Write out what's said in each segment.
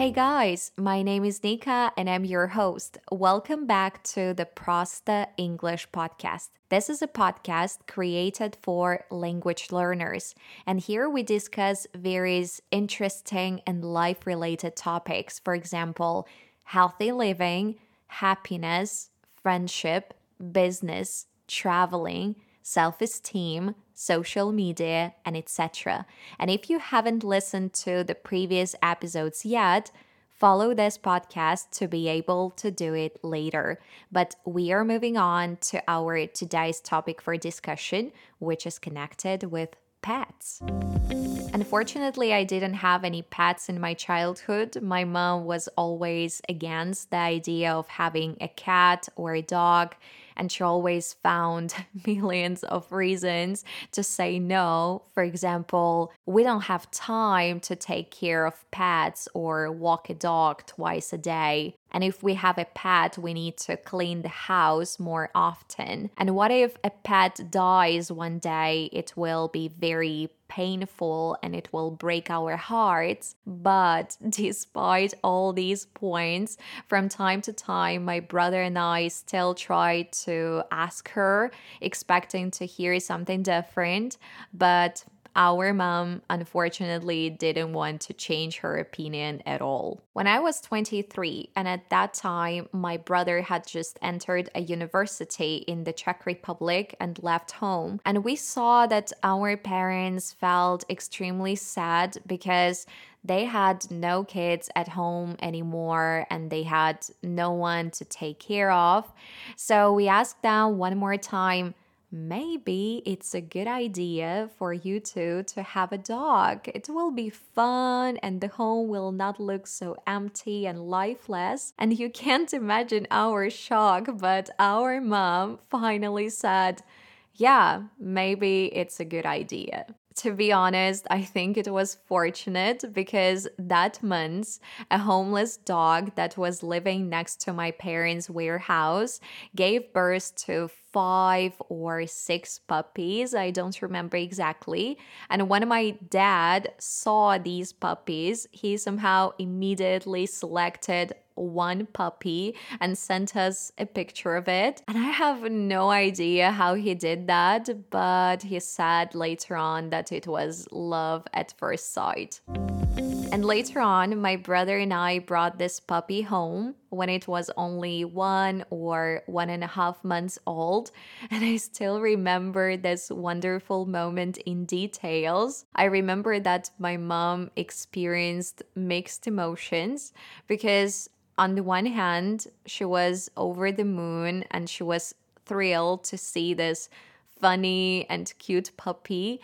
Hey guys, my name is Nika and I'm your host. Welcome back to the Prosta English podcast. This is a podcast created for language learners, and here we discuss various interesting and life related topics. For example, healthy living, happiness, friendship, business, traveling, self esteem, social media, and etc. And if you haven't listened to the previous episodes yet, follow this podcast to be able to do it later. But we are moving on to our today's topic for discussion, which is connected with pets. Unfortunately, I didn't have any pets in my childhood. My mom was always against the idea of having a cat or a dog, and she always found millions of reasons to say no. For example, we don't have time to take care of pets or walk a dog twice a day. And if we have a pet, we need to clean the house more often. And what if a pet dies one day? It will be very painful and it will break our hearts. But despite all these points, from time to time, my brother and I still try to ask her, expecting to hear something different. But our mom unfortunately didn't want to change her opinion at all. When I was 23, and at that time, my brother had just entered a university in the Czech Republic and left home, and we saw that our parents felt extremely sad because they had no kids at home anymore and they had no one to take care of. So we asked them one more time, maybe it's a good idea for you two to have a dog. It will be fun and the home will not look so empty and lifeless. And you can't imagine our shock, but our mom finally said, yeah, maybe it's a good idea. To be honest, I think it was fortunate because that month, a homeless dog that was living next to my parents' warehouse gave birth to 5 or 6 puppies. I don't remember exactly. And when my dad saw these puppies, he somehow immediately selected one puppy and sent us a picture of it. And I have no idea how he did that, but he said later on that it was love at first sight. And later on, my brother and I brought this puppy home when it was only 1 or 1.5 months old. And I still remember this wonderful moment in details. I remember that my mom experienced mixed emotions because on the one hand, she was over the moon and she was thrilled to see this funny and cute puppy.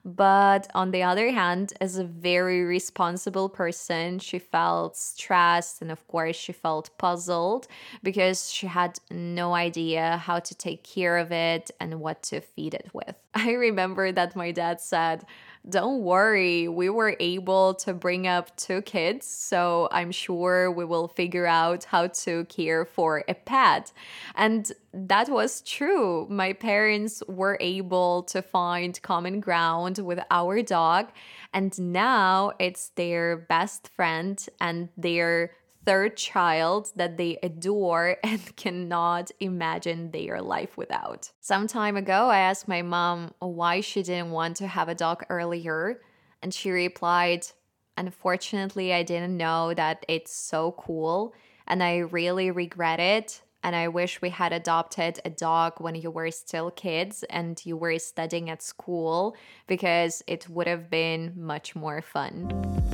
But on the other hand, as a very responsible person, she felt stressed and, of course, she felt puzzled because she had no idea how to take care of it and what to feed it with. I remember that my dad said, don't worry, we were able to bring up 2 kids, so I'm sure we will figure out how to care for a pet. And that was true. My parents were able to find common ground with our dog, and now it's their best friend and their third child that they adore and cannot imagine their life without. Some time ago, I asked my mom why she didn't want to have a dog earlier, and she replied, unfortunately, I didn't know that it's so cool, and I really regret it. And I wish we had adopted a dog when you were still kids and you were studying at school because it would have been much more fun.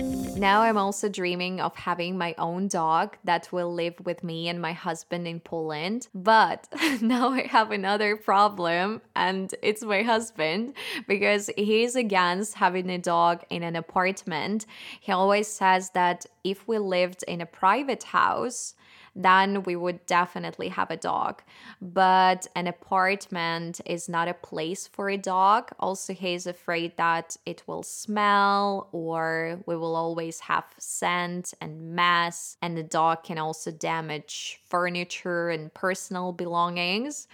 Now I'm also dreaming of having my own dog that will live with me and my husband in Poland. But now I have another problem, and it's my husband because he's against having a dog in an apartment. He always says that if we lived in a private house, then we would definitely have a dog. But an apartment is not a place for a dog. Also, he's afraid that it will smell or we will always have scent and mess, and the dog can also damage furniture and personal belongings.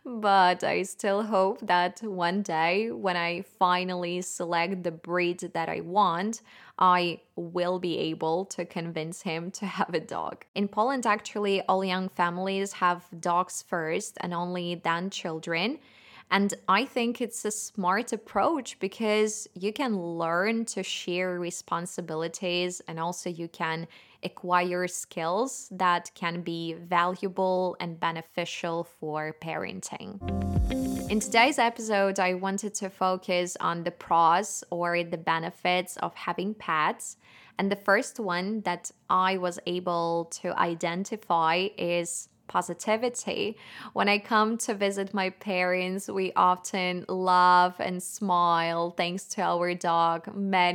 But I still hope that one day when I finally select the breed that I want, I will be able to convince him to have a dog. In Poland, actually, all young families have dogs first and only then children. And I think it's a smart approach because you can learn to share responsibilities and also you can acquire skills that can be valuable and beneficial for parenting. In today's episode, I wanted to focus on the pros or the benefits of having pets. And the first one that I was able to identify is positivity. When I come to visit my parents, we often laugh and smile thanks to our dog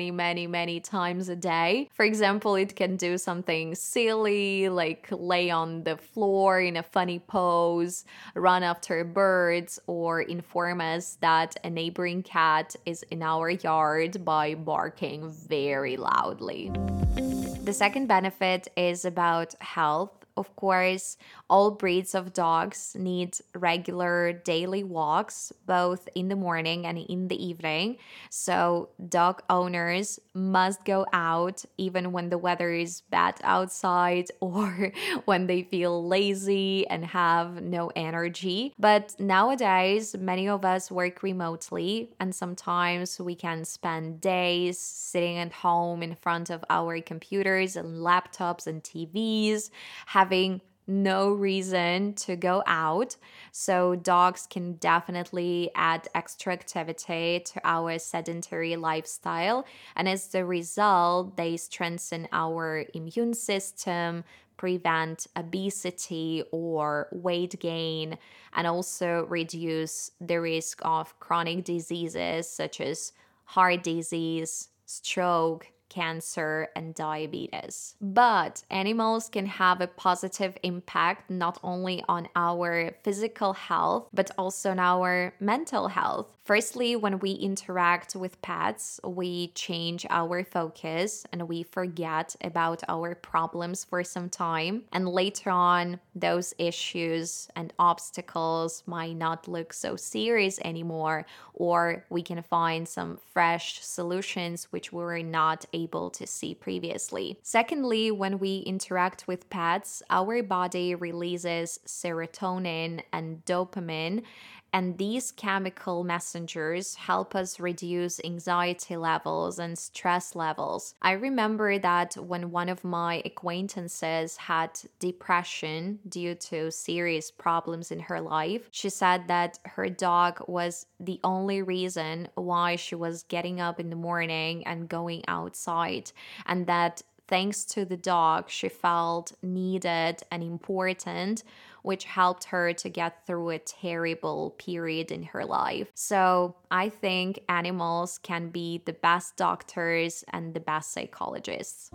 many times a day. For example, it can do something silly like lay on the floor in a funny pose, run after birds, or inform us that a neighboring cat is in our yard by barking very loudly. The second benefit is about health. Of course, all breeds of dogs need regular daily walks, both in the morning and in the evening. So, dog owners must go out even when the weather is bad outside or when they feel lazy and have no energy. But nowadays, many of us work remotely, and sometimes we can spend days sitting at home in front of our computers and laptops and TVs, having no reason to go out. So, dogs can definitely add extra activity to our sedentary lifestyle. And as the result, they strengthen our immune system, prevent obesity or weight gain, and also reduce the risk of chronic diseases such as heart disease, stroke, cancer, and diabetes. But animals can have a positive impact not only on our physical health, but also on our mental health. Firstly, when we interact with pets, we change our focus and we forget about our problems for some time. And later on, those issues and obstacles might not look so serious anymore, or we can find some fresh solutions which we were not able to see previously. Secondly, when we interact with pets, our body releases serotonin and dopamine, and these chemical messengers help us reduce anxiety levels and stress levels. I remember that when one of my acquaintances had depression due to serious problems in her life, she said that her dog was the only reason why she was getting up in the morning and going outside, and that thanks to the dog, she felt needed and important, which helped her to get through a terrible period in her life. So I think animals can be the best doctors and the best psychologists.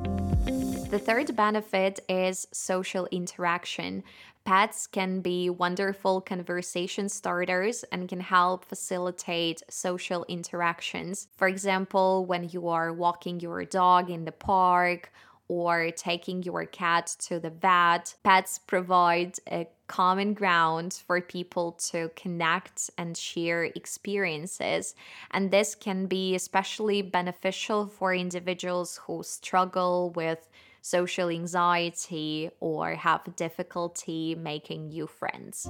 The third benefit is social interaction. Pets can be wonderful conversation starters and can help facilitate social interactions. For example, when you are walking your dog in the park or taking your cat to the vet, pets provide a common ground for people to connect and share experiences. And this can be especially beneficial for individuals who struggle with social anxiety or have difficulty making new friends.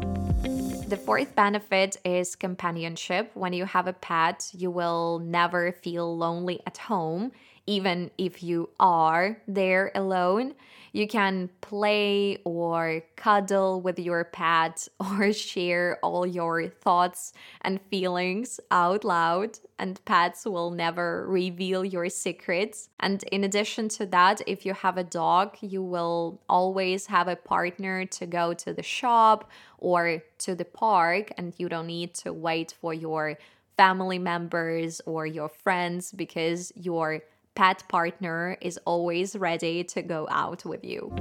The fourth benefit is companionship. When you have a pet, you will never feel lonely at home, even if you are there alone. You can play or cuddle with your pet or share all your thoughts and feelings out loud, and pets will never reveal your secrets. And in addition to that, if you have a dog, you will always have a partner to go to the shop or to the park, and you don't need to wait for your family members or your friends because your pet partner is always ready to go out with you.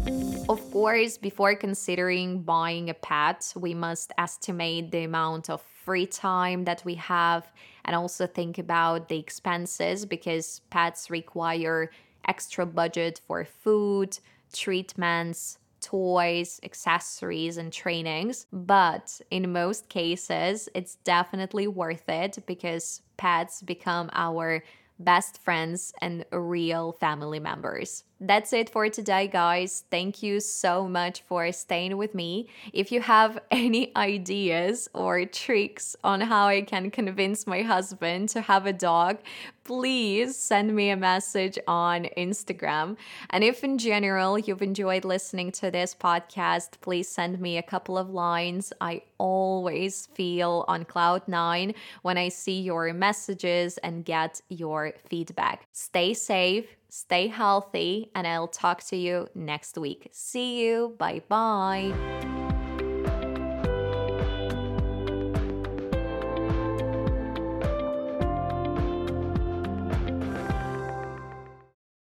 Of course, before considering buying a pet, we must estimate the amount of free time that we have and also think about the expenses because pets require extra budget for food, treatments, toys, accessories, and trainings. But in most cases, it's definitely worth it because pets become our best friends, and real family members. That's it for today, guys. Thank you so much for staying with me. If you have any ideas or tricks on how I can convince my husband to have a dog, please send me a message on Instagram. And if in general you've enjoyed listening to this podcast, please send me a couple of lines. I always feel on cloud nine when I see your messages and get your feedback. Stay safe. Stay healthy, and I'll talk to you next week. See you. Bye bye.